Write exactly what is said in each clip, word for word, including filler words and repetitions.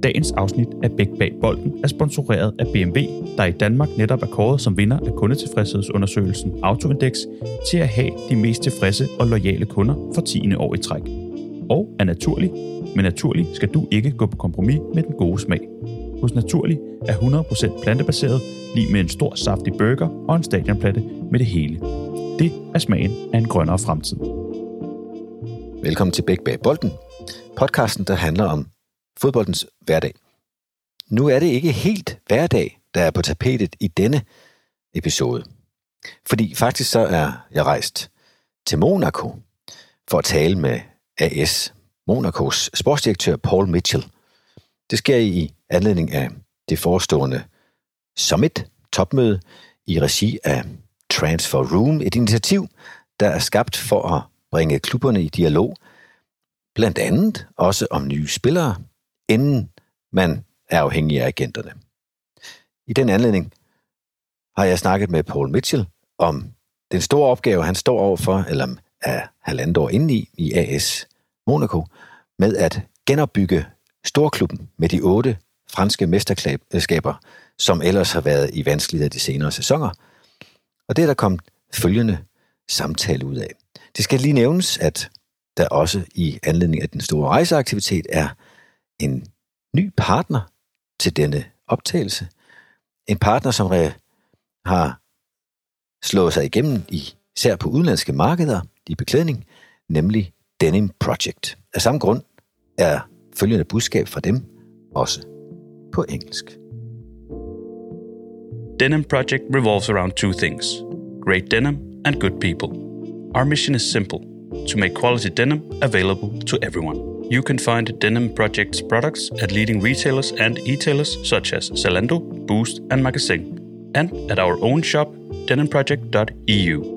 Dagens afsnit af Bæk bag bolden er sponsoreret af B M W, der i Danmark netop er kåret som vinder af kundetilfredshedsundersøgelsen Autoindex til at have de mest tilfredse og loyale kunder for tiende år i træk. Og er naturlig, men naturlig skal du ikke gå på kompromis med den gode smag. Hos Naturlig er hundrede procent plantebaseret, lige med en stor saftig burger og en stadionplatte med det hele. Det er smagen af en grønnere fremtid. Velkommen til Bæk bag bolden, podcasten, der handler om fodboldens hverdag. Nu er det ikke helt hverdag, der er på tapetet i denne episode. Fordi faktisk så er jeg rejst til Monaco for at tale med A S Monacos sportsdirektør Paul Mitchell. Det sker i anledning af det forestående Summit topmøde i regi af Transfer Room, et initiativ, der er skabt for at bringe klubberne i dialog, blandt andet også om nye spillere, inden man er afhængig af agenterne. I den anledning har jeg snakket med Paul Mitchell om den store opgave, han står overfor, eller er halvandet år inde i, i A S Monaco, med at genopbygge storklubben med de otte franske mesterskaber, som ellers har været i vanskeligheder de senere sæsoner. Og det er der kommet følgende samtale ud af. Det skal lige nævnes, at der også i anledning af den store rejseaktivitet er en ny partner til denne optagelse. En partner, som har slået sig igennem især på udenlandske markeder i beklædning, nemlig Denim Project. Af samme grund er følgende budskab fra dem også på engelsk. Denim Project revolves around two things: great denim and good people. Our mission is simple: to make quality denim available to everyone. You can find Denim Project's products at leading retailers and e-tailers such as Zalando, Boost and Magasin, and at our own shop, denim project dot e u.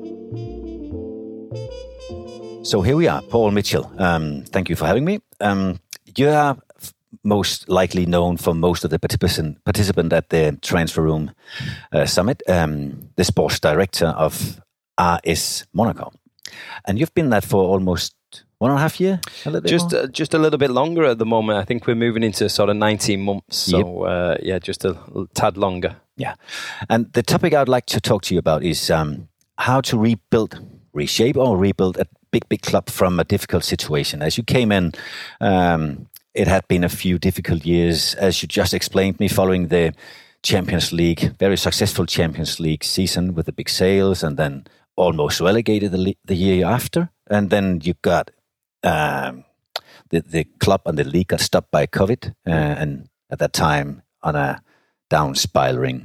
So here we are, Paul Mitchell. Um, thank you for having me. Um, you are most likely known for most of the participant participant at the Transfer Room uh, Summit, um, the sports director of A S Monaco, and you've been that for almost one and a half year. A little bit just more? Uh, just a little bit longer at the moment. I think we're moving into sort of nineteen months. So yep. uh, yeah, just a tad longer. Yeah, and the topic I'd like to talk to you about is um, how to rebuild, reshape, or rebuild a big, big club from a difficult situation. As you came in, um, it had been a few difficult years, as you just explained me, following the Champions League, very successful Champions League season with the big sales, and then almost relegated the, le- the year after. And then you got um, the, the club and the league got stopped by COVID, uh, and at that time on a down spiraling,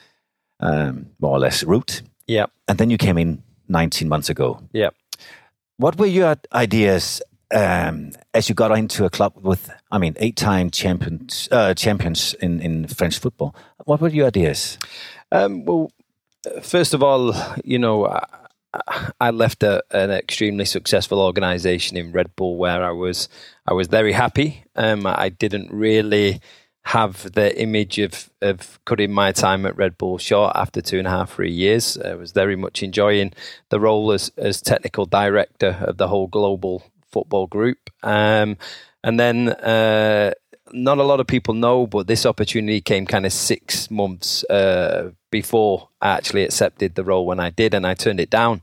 um, more or less, route. Yeah. And then you came in nineteen months ago. Yeah. What were your ideas um, as you got into a club with, I mean, eight-time champions, uh, champions in, in French football? What were your ideas? Um, well, first of all, you know, I, I left a, an extremely successful organisation in Red Bull where I was, I was very happy. Um, I didn't really have the image of, of cutting my time at Red Bull short after two and a half, three years. I was very much enjoying the role as, as technical director of the whole global football group. Um, and then uh, not a lot of people know, but this opportunity came kind of six months uh, before I actually accepted the role when I did, and I turned it down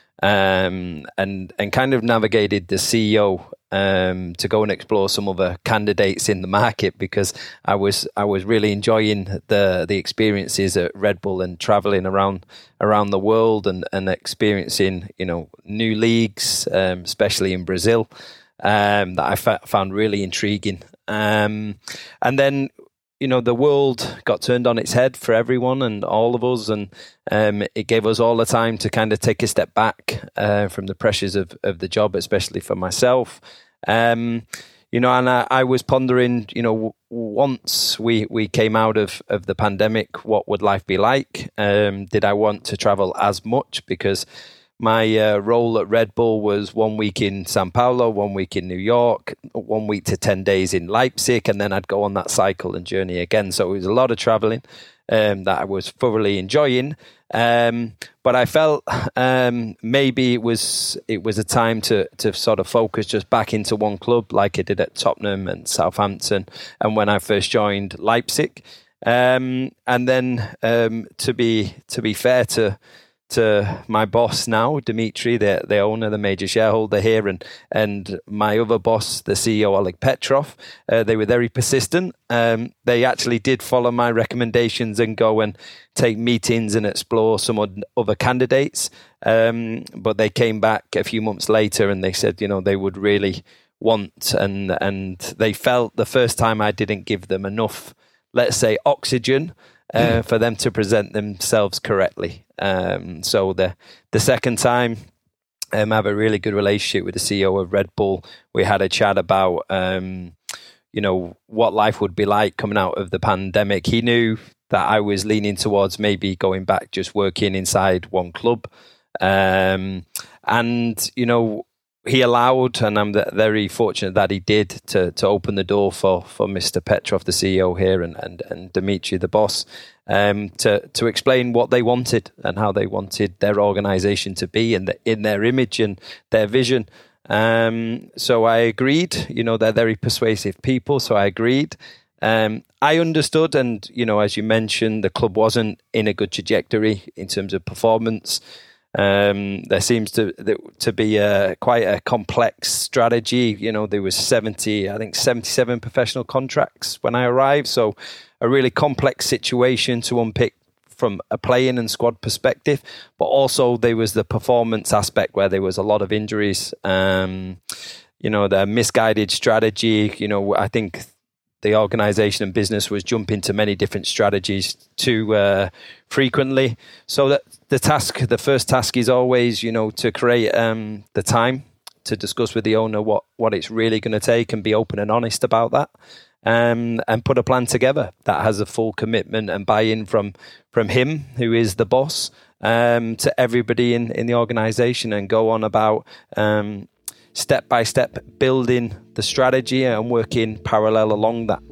um, and, and kind of navigated the C E O Um, to go and explore some other candidates in the market, because I was I was really enjoying the the experiences at Red Bull and traveling around around the world and, and experiencing, you know, new leagues, um, especially in Brazil, um, that I fa- found really intriguing. Um, and then, you know, the world got turned on its head for everyone and all of us, and um, it gave us all the time to kind of take a step back uh, from the pressures of, of the job, especially for myself. Um, you know, and I, I was pondering, you know, w- once we, we came out of, of the pandemic, what would life be like? Um, did I want to travel as much? Because my uh, role at Red Bull was one week in Sao Paulo, one week in New York, one week to ten days in Leipzig, and then I'd go on that cycle and journey again. So it was a lot of traveling. um, that I was thoroughly enjoying. Um, but I felt um, maybe it was it was a time to to sort of focus just back into one club, like I did at Tottenham and Southampton, and when I first joined Leipzig. Um, and then um, to be to be fair to to my boss now, Dimitri, the the owner, the major shareholder here, and and my other boss, the C E O, Oleg Petrov, uh, they were very persistent. Um, they actually did follow my recommendations and go and take meetings and explore some other candidates. Um, but they came back a few months later and they said, you know, they would really want, and and they felt the first time I didn't give them enough, let's say, oxygen uh, mm. for them to present themselves correctly. Um, so the the second time, um, I have a really good relationship with the C E O of Red Bull. We had a chat about, um, you know, what life would be like coming out of the pandemic. He knew that I was leaning towards maybe going back, just working inside one club. Um, and, you know, he allowed, and I'm very fortunate that he did, to to open the door for, for Mister Petrov, the C E O here, and, and, and Dimitri, the boss, um, to, to explain what they wanted and how they wanted their organization to be in, the, in their image and their vision. Um, so I agreed. You know, they're very persuasive people, so I agreed. Um, I understood, and, you know, as you mentioned, the club wasn't in a good trajectory in terms of performance. Um, there seems to to be a, quite a complex strategy. You know, there was seventy, I think seventy-seven professional contracts when I arrived. So a really complex situation to unpick from a playing and squad perspective. But also there was the performance aspect where there was a lot of injuries. Um, you know, the misguided strategy. You know, I think the organization and business was jumping to many different strategies too uh, frequently. So that the task, the first task is always, you know, to create um, the time to discuss with the owner what, what it's really going to take and be open and honest about that, um, and put a plan together that has a full commitment and buy-in from from him, who is the boss, um, to everybody in, in the organization, and go on about um, step by step building the strategy and working parallel along that.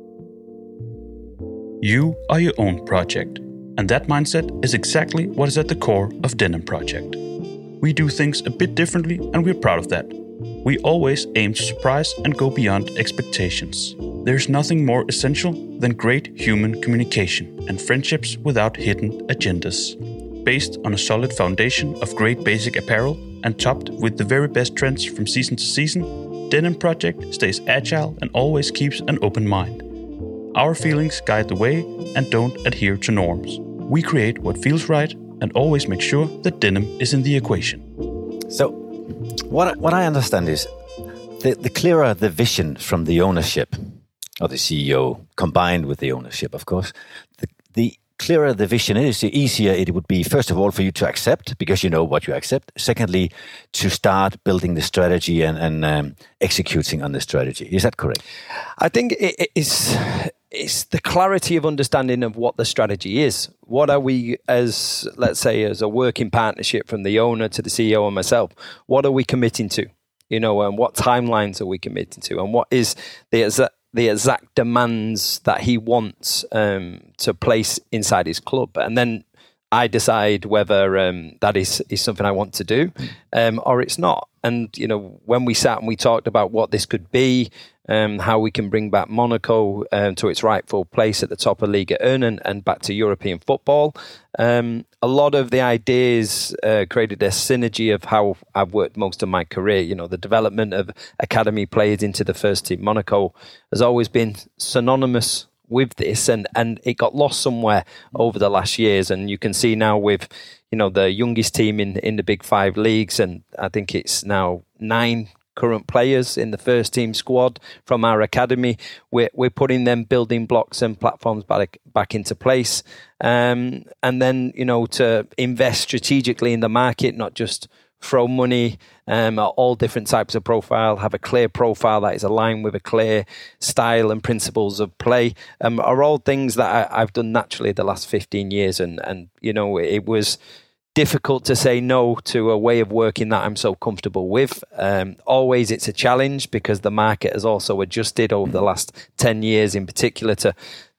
You are your own project, and that mindset is exactly what is at the core of Denim Project. We do things a bit differently, and we're proud of that. We always aim to surprise and go beyond expectations. There's nothing more essential than great human communication and friendships without hidden agendas. Based on a solid foundation of great basic apparel and topped with the very best trends from season to season, Denim Project stays agile and always keeps an open mind. Our feelings guide the way and don't adhere to norms. We create what feels right and always make sure that denim is in the equation. So, what what I understand is the, the clearer the vision from the ownership, or the C E O, combined with the ownership, of course, the, the clearer the vision is, the easier it would be, first of all, for you to accept, because you know what you accept. Secondly, to start building the strategy and, and um, executing on the strategy. Is that correct? I think it is... It's the clarity of understanding of what the strategy is. What are we, as let's say, as a working partnership from the owner to the C E O and myself, what are we committing to? You know, and what timelines are we committing to? And what is the exact, the exact demands that he wants um, to place inside his club? And then I decide whether um, that is, is something I want to do um, or it's not. And, you know, when we sat and we talked about what this could be, um, how we can bring back Monaco um, to its rightful place at the top of Ligue one and, and back to European football, um, a lot of the ideas uh, created a synergy of how I've worked most of my career. You know, the development of academy players into the first team. Monaco has always been synonymous with this, and, and it got lost somewhere over the last years. And you can see now with, you know, the youngest team in, in the big five leagues, and I think it's now nine current players in the first team squad from our academy. We're, we're putting them building blocks and platforms back, back into place. Um, and then, you know, to invest strategically in the market, not just throw money um, at all different types of profile, have a clear profile that is aligned with a clear style and principles of play, um, are all things that I, I've done naturally the last fifteen years. And, and, you know, it was difficult to say no to a way of working that I'm so comfortable with. Um, always it's a challenge because the market has also adjusted over the last ten years in particular to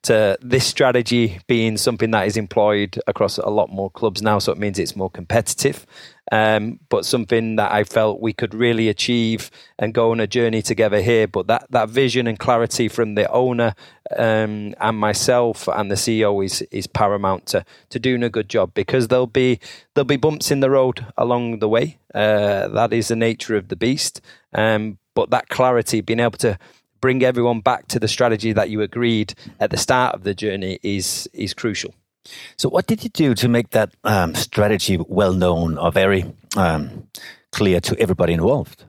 to this strategy being something that is employed across a lot more clubs now. So it means it's more competitive, um, but something that I felt we could really achieve and go on a journey together here. But that, that vision and clarity from the owner um, and myself and the C E O is is paramount to to doing a good job, because there'll be there'll be bumps in the road along the way. Uh, that is the nature of the beast. Um, but that clarity, being able to bring everyone back to the strategy that you agreed at the start of the journey is is crucial. So what did you do to make that um, strategy well known or very um, clear to everybody involved?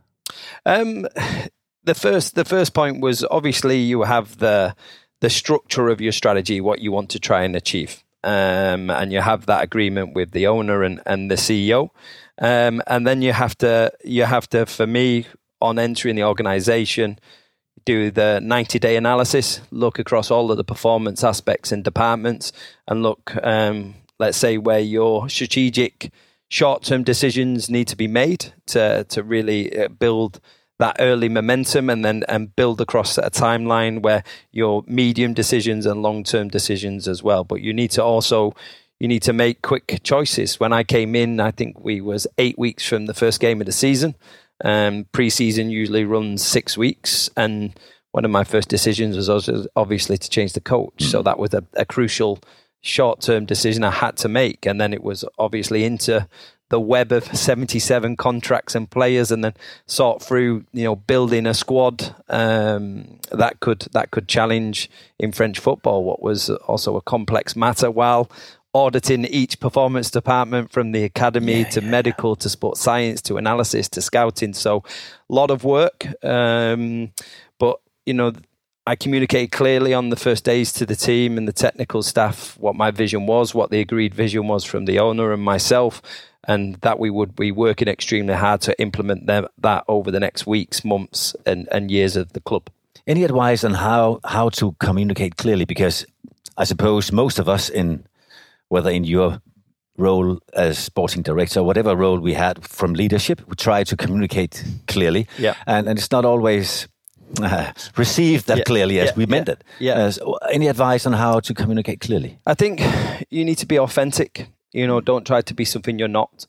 Um, the first the first point was, obviously you have the the structure of your strategy, what you want to try and achieve. Um, and you have that agreement with the owner and, and the C E O. Um, and then you have to you have to, for me, on entering the organization, do the ninety-day analysis, look across all of the performance aspects and departments, and look, um, let's say, where your strategic short-term decisions need to be made to to really build that early momentum, and then and build across a timeline where your medium decisions and long-term decisions as well. But you need to also you need to make quick choices. When I came in, I think we was eight weeks from the first game of the season. Um, pre-season usually runs six weeks, and one of my first decisions was also obviously to change the coach. Mm. So that was a, a crucial short-term decision I had to make, and then it was obviously into the web of seventy-seven contracts and players, and then sort through, you know, building a squad um, that could that could challenge in French football, what was also a complex matter, while auditing each performance department, from the academy yeah, to yeah, medical yeah. to sports science to analysis to scouting. So a lot of work. Um, but, you know, I communicated clearly on the first days to the team and the technical staff what my vision was, what the agreed vision was from the owner and myself, and that we would be working extremely hard to implement them, that over the next weeks, months and, and years of the club. Any advice on how, how to communicate clearly? Because I suppose most of us, in whether in your role as sporting director, whatever role we had from leadership, we try to communicate clearly. Yeah. And, and it's not always uh, received that yeah, clearly as yeah, we meant yeah, it. Yeah. Uh, so any advice on how to communicate clearly? I think you need to be authentic. You know, don't try to be something you're not.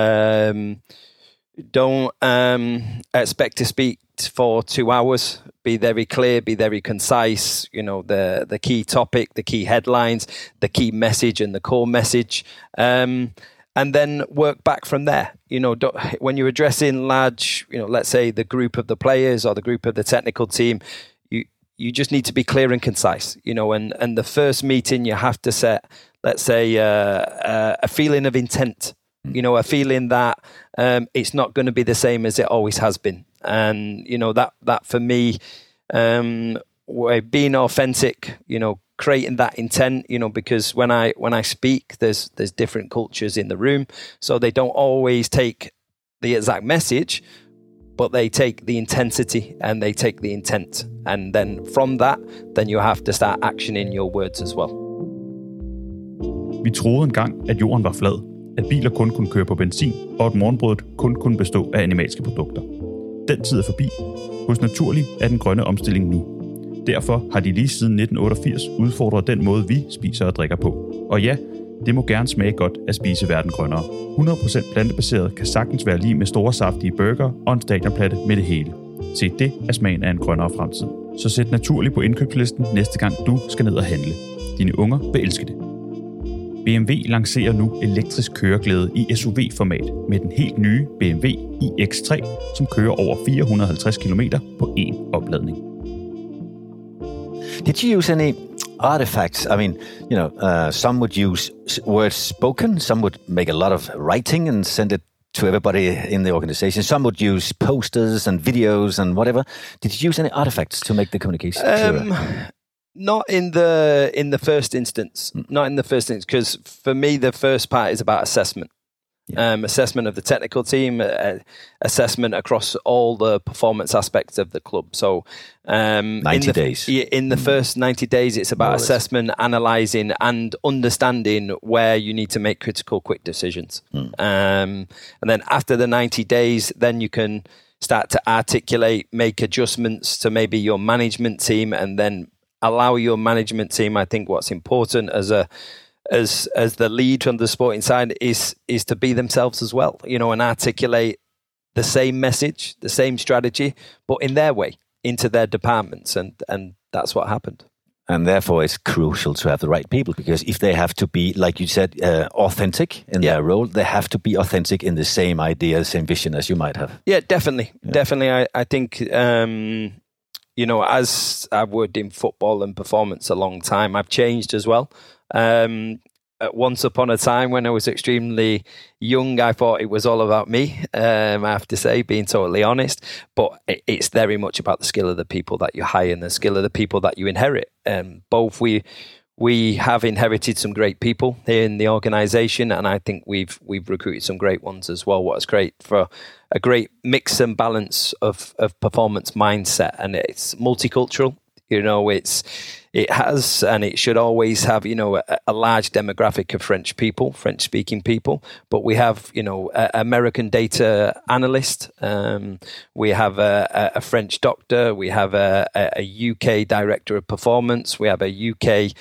Um, don't um, expect to speak for two hours. Be very clear, be very concise, you know, the the key topic, the key headlines, the key message and the core message, um, and then work back from there. You know, don't, when you're addressing large, you know, let's say the group of the players or the group of the technical team, you you just need to be clear and concise, you know, and, and the first meeting you have to set, let's say, uh, uh, a feeling of intent, you know, a feeling that um, it's not going to be the same as it always has been. And, you know, that, that for me, um, being authentic, you know, creating that intent, you know, because when I, when I speak, there's, there's different cultures in the room. So they don't always take the exact message, but they take the intensity and they take the intent. And then from that, then you have to start actioning your words as well. Vi troede engang, at jorden var flad, at biler kun kunne køre på benzin, og at morgenbrødet kun kunne bestå af animalske produkter. Den tid er forbi. Hos Naturli er den grønne omstilling nu. Derfor har de lige siden nitten otteogfirs udfordret den måde, vi spiser og drikker på. Og ja, det må gerne smage godt at spise verden grønnere. hundrede procent plantebaseret kan sagtens være lige med store saftige burger og en stadionplatte med det hele. Se, det er smagen af en grønnere fremtid. Så sæt Naturli på indkøbslisten næste gang du skal ned og handle. Dine unger vil elske det. B M W lancerer nu elektrisk køreglæde i S U V-format med den helt nye B M W i X tre, som kører over fire hundrede og halvtreds kilometer på én opladning. Did you use any artifacts? I mean, you know, uh, some would use words spoken, some would make a lot of writing and send it to everybody in the organization. Some would use posters and videos and whatever. Did you use any artifacts to make the communication clearer? Um, Not in the in the first instance. Mm. Not in the first instance, because for me the first part is about assessment. Yeah. Um, assessment of the technical team, uh, assessment across all the performance aspects of the club. So um, ninety in the, days. In the first ninety days, it's about assessment, analysing, and understanding where you need to make critical, quick decisions. Mm. Um, and then after the ninety days, then you can start to articulate, make adjustments to maybe your management team, and then allow your management team. I think what's important as a as as the lead on the sporting side is is to be themselves as well, you know, and articulate the same message, the same strategy, but in their way, into their departments, and and that's what happened. And therefore, it's crucial to have the right people, because if they have to be, like you said, uh, authentic in yeah. their role, they have to be authentic in the same idea, the same vision as you might have. Yeah, definitely. Yeah. Definitely. I, I think, um, you know, as I've worked in football and performance a long time, I've changed as well. Um, once upon a time when I was extremely young, I thought it was all about me, um, I have to say, being totally honest. But it, it's very much about the skill of the people that you hire and the skill of the people that you inherit. Um, both we we have inherited some great people here in the organisation, and I think we've we've recruited some great ones as well. What's great for a great mix and balance of, of performance mindset, and it's multicultural. You know, it's it has and it should always have, you know, a, a large demographic of French people, French-speaking people. But we have, you know, an American data analyst. Um, we have a, a French doctor. We have a, a U K director of performance. We have a U K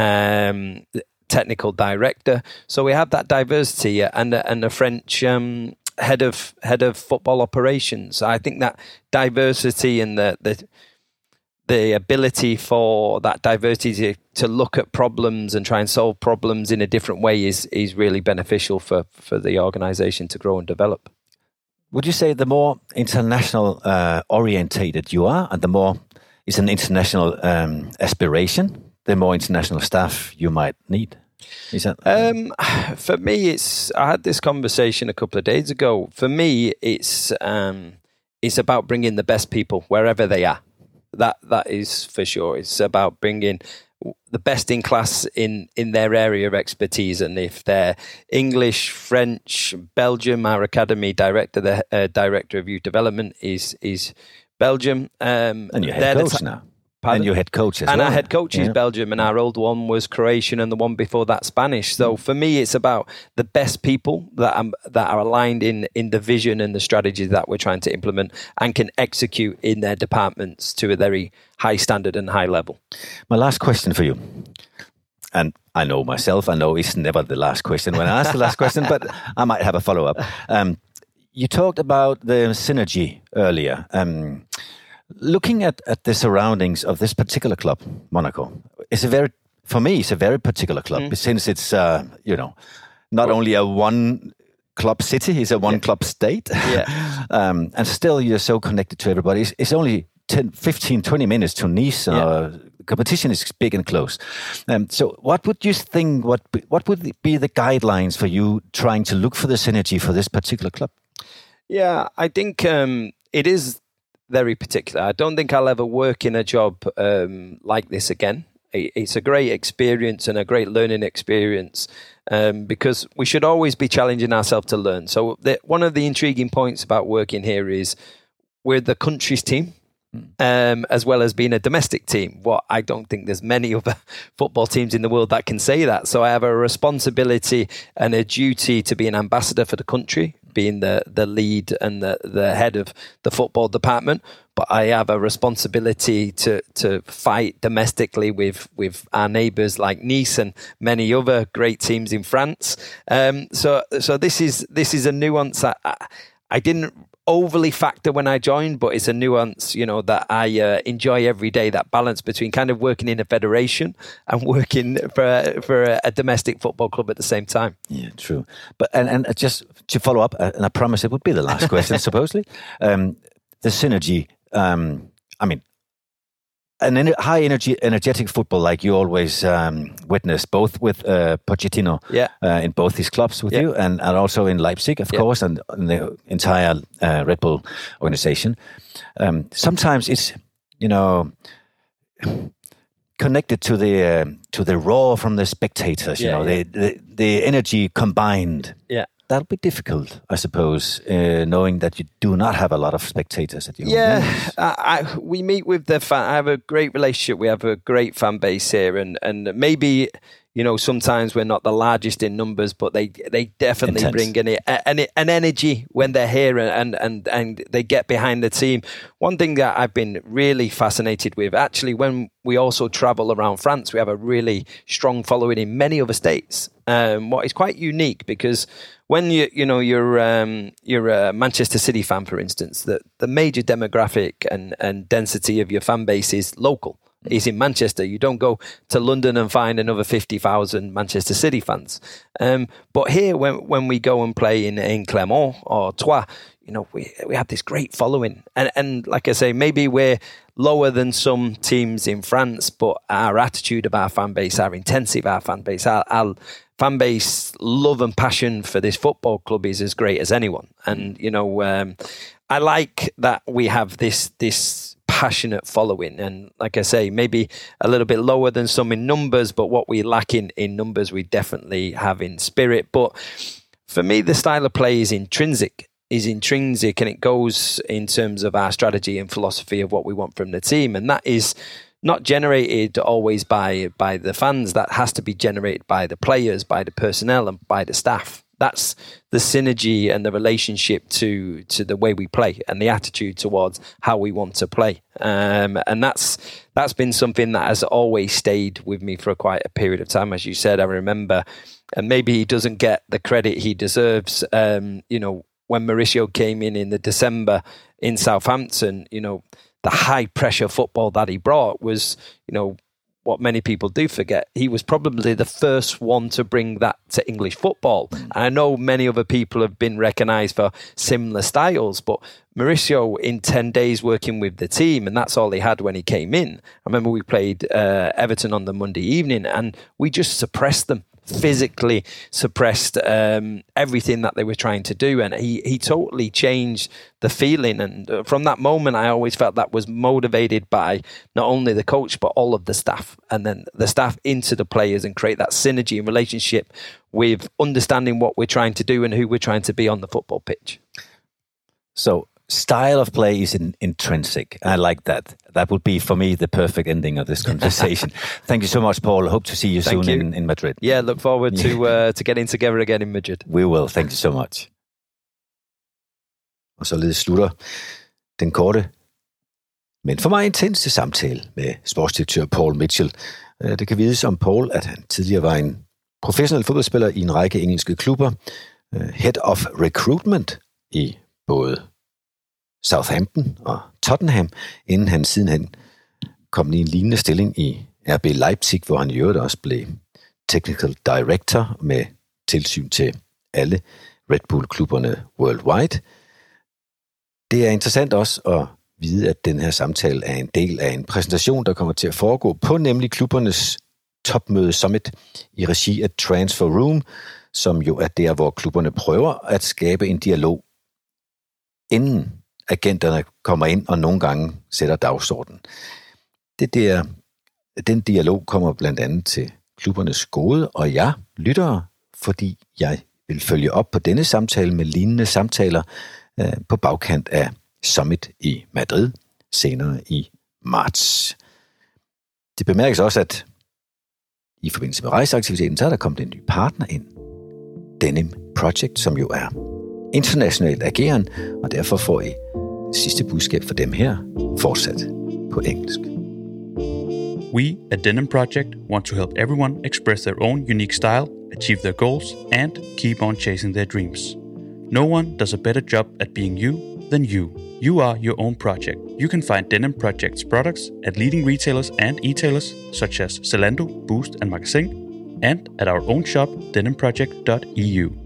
um, technical director. So we have that diversity, and and a French Um, head of head of football operations. I think that diversity and the the the ability for that diversity to, to look at problems and try and solve problems in a different way is is really beneficial for, for the organisation to grow and develop. Would you say the more international uh, orientated you are, and the more it's an international um, aspiration, the more international staff you might need? Is that um, for me? It's I had this conversation a couple of days ago. For me, it's um, it's about bringing the best people wherever they are. That that is for sure. It's about bringing the best in class in, in their area of expertise. And if they're English, French, Belgium, our academy director, the uh, director of youth development is is Belgium. Um, and your head coach t- now. Pardon? And your head coach as and well. our head coach yeah. is Belgium, and our old one was Croatian, and the one before that Spanish. So mm. for me, it's about the best people that are, that are aligned in, in the vision and the strategy that we're trying to implement and can execute in their departments to a very high standard and high level. My last question for you, and I know myself, I know it's never the last question when I ask the last question, but I might have a follow-up. Um, you talked about the synergy earlier. Um, Looking at, at the surroundings of this particular club, Monaco, it's a very, for me, it's a very particular club, mm. since it's, uh, you know, not only a one club city, it's a one yeah. club state. Yeah. um, and still you're so connected to everybody. It's, it's only ten, fifteen, twenty minutes to Nice. Yeah. Uh, competition is big and close. Um, so what would you think, what, what would be the guidelines for you trying to look for the synergy for this particular club? Yeah, I think um, it is very particular. I don't think I'll ever work in a job um, like this again. It's a great experience and a great learning experience um, because we should always be challenging ourselves to learn. So the, one of the intriguing points about working here is we're the country's team. Um, as well as being a domestic team. What I don't think there's many other football teams in the world that can say that. So I have a responsibility and a duty to be an ambassador for the country, being the, the lead and the, the head of the football department. But I have a responsibility to to fight domestically with, with our neighbours like Nice and many other great teams in France. Um, so so this is this is a nuance I, I, I didn't overly factor when I joined, but it's a nuance, you know, that I uh, enjoy every day, that balance between kind of working in a federation and working for a, for a, a domestic football club at the same time. Yeah, true. But and, and just to follow up, and I promise it would be the last question, supposedly, um, the synergy, um, I mean, an en- high energy, energetic football like you always um, witness, both with uh, Pochettino yeah. uh, in both his clubs with yeah. you, and, and also in Leipzig, of yeah. course, and, and the entire uh, Red Bull organization. Um, sometimes it's, you know, connected to the uh, to the roar from the spectators. You yeah, know, yeah. the, the the energy combined. Yeah. That'll be difficult, I suppose, uh, knowing that you do not have a lot of spectators at your Yeah, I, I, we meet with the fan. I have a great relationship. We have a great fan base here, and and maybe, you know, sometimes we're not the largest in numbers, but they they definitely Intense. bring in an, an energy when they're here, and, and, and they get behind the team. One thing that I've been really fascinated with, actually, when we also travel around France, we have a really strong following in many other states. Um, what is quite unique, because when you you know you're um, you're a Manchester City fan, for instance, the the major demographic and and density of your fan base is local. Is in Manchester. You don't go to London and find another fifty thousand Manchester City fans. Um, but here, when when we go and play in, in Clermont or Troyes, you know, we we have this great following. And and like I say, maybe we're lower than some teams in France, but our attitude of our fan base, our intensity of our fan base, our, our fan base love and passion for this football club is as great as anyone. And, you know, um, I like that we have this this passionate following, and like I say, maybe a little bit lower than some in numbers, but what we lack in, in numbers we definitely have in spirit. But for me, the style of play is intrinsic is intrinsic and it goes in terms of our strategy and philosophy of what we want from the team, and that is not generated always by by the fans. That has to be generated by the players, by the personnel, and by the staff. That's the synergy and the relationship to to the way we play and the attitude towards how we want to play. Um, and that's that's been something that has always stayed with me for quite a period of time. As you said, I remember, and maybe he doesn't get the credit he deserves. Um, you know, when Mauricio came in in the December in Southampton, you know, the high pressure football that he brought was, you know, what many people do forget. He was probably the first one to bring that to English football. Mm. I know many other people have been recognised for similar styles, but Mauricio, in ten days working with the team, and that's all he had when he came in. I remember we played uh, Everton on the Monday evening, and we just suppressed them. Physically suppressed um, everything that they were trying to do, and he he totally changed the feeling. And uh, from that moment, I always felt that was motivated by not only the coach but all of the staff, and then the staff into the players, and create that synergy and relationship with understanding what we're trying to do and who we're trying to be on the football pitch. So style of play is in, intrinsic. I like that. That would be, for me, the perfect ending of this conversation. Thank you so much, Paul. Hope to see you Thank soon you. In, in Madrid. Yeah, look forward to uh, to getting together again in Madrid. We will. Thank you so much. Og således slutter den korte, men for mig intense samtale med sportsdirektør Paul Mitchell. Det kan vides om Paul, at han tidligere var en professionel fodboldspiller i en række engelske klubber. Head of Recruitment i både Southampton og Tottenham, inden han sidenhen kom i en lignende stilling i R B Leipzig, hvor han i øvrigt også blev Technical Director med tilsyn til alle Red Bull-klubberne worldwide. Det er interessant også at vide, at den her samtale er en del af en præsentation, der kommer til at foregå på nemlig klubbernes topmøde summit i regi af Transfer Room, som jo er der, hvor klubberne prøver at skabe en dialog, inden agenterne kommer ind og nogle gange sætter dagsordenen. Det der, den dialog kommer blandt andet til klubbernes gode, og jeg lytter, fordi jeg vil følge op på denne samtale med lignende samtaler øh, på bagkant af Summit i Madrid senere i marts. Det bemærkes også, at i forbindelse med rejseaktiviteten, så er der kommet en ny partner ind. Denim Project, som jo er internationalt ageren, og derfor får I sidste budskab for dem her fortsat på engelsk. We at Denim Project want to help everyone express their own unique style, achieve their goals, and keep on chasing their dreams. No one does a better job at being you than you. You are your own project. You can find Denim Project's products at leading retailers and e-tailers such as Zalando, Boost, and Magasin, and at our own shop, denim project dot e u.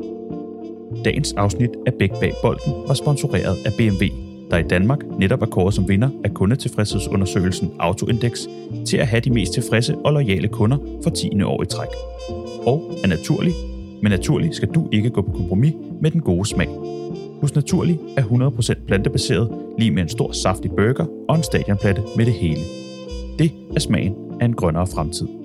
Dagens afsnit af Bæk bag bolden var sponsoreret af B M W, der i Danmark netop er kåret som vinder af kundetilfredshedsundersøgelsen Autoindex til at have de mest tilfredse og loyale kunder for tiende år i træk. Og er naturlig, men naturlig skal du ikke gå på kompromis med den gode smag. Hos Naturlig er hundrede procent plantebaseret, lige med en stor saftig burger og en stadionplatte med det hele. Det er smagen af en grønnere fremtid.